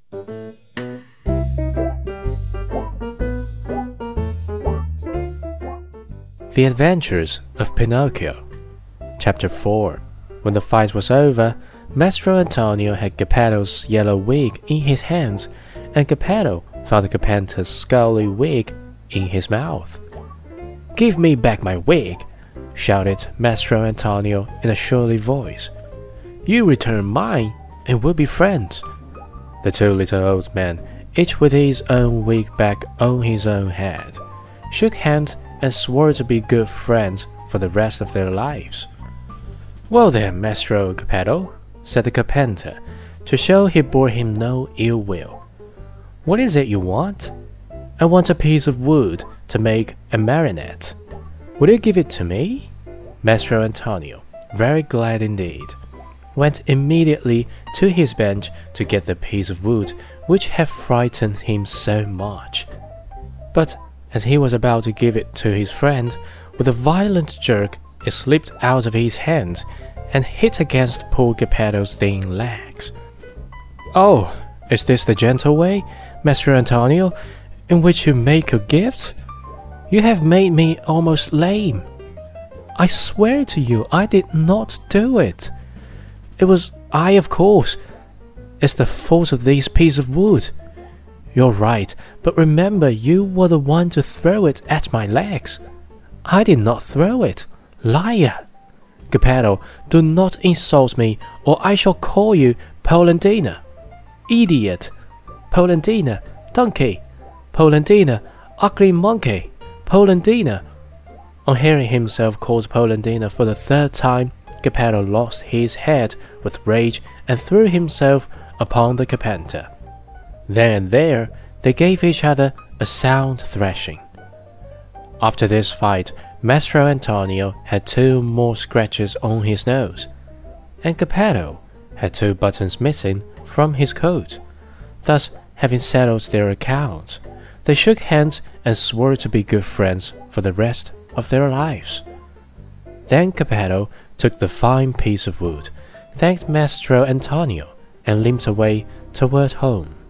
The Adventures of Pinocchio. Chapter 4. When the fight was over, Maestro Antonio had Geppetto's yellow wig in his hands, and Geppetto found Cappetta's scaly wig in his mouth. "Give me back my wig!" shouted Maestro Antonio in a surly voice. "You return mine, and we'll be friends." The two little old men, each with his own wig back on his own head, shook hands and swore to be good friends for the rest of their lives. "Well then, Maestro Geppetto," said the carpenter, to show he bore him no ill will, "what is it you want?" "I want a piece of wood to make a marionette. Will you give it to me?" Maestro Antonio, very glad indeed, went immediately to his bench to get the piece of wood which had frightened him so much. But as he was about to give it to his friend, with a violent jerk it slipped out of his hand and hit against poor Geppetto's thin legs. "Oh, is this the gentle way, Maestro Antonio, in which you make your gifts? You have made me almost lame. I swear to you I did not do it. It was I, of course. It's the fault of this piece of wood. You're right, but remember you were the one to throw it at my legs. I did not throw it. Liar! Geppetto, do not insult me, or I shall call you Polendina. Idiot! Polendina, donkey! Polendina, ugly monkey! Polendina!" On hearing himself called Polendina for the third time, Geppetto lost his head with rage and threw himself upon the carpenter. Then and there they gave each other a sound thrashing. After this fight, Maestro Antonio had 2 more scratches on his nose, and Geppetto had 2 buttons missing from his coat. Thus, having settled their accounts, they shook hands and swore to be good friends for the rest of their lives. Then Geppetto took the fine piece of wood, thanked Maestro Antonio, and limped away toward home.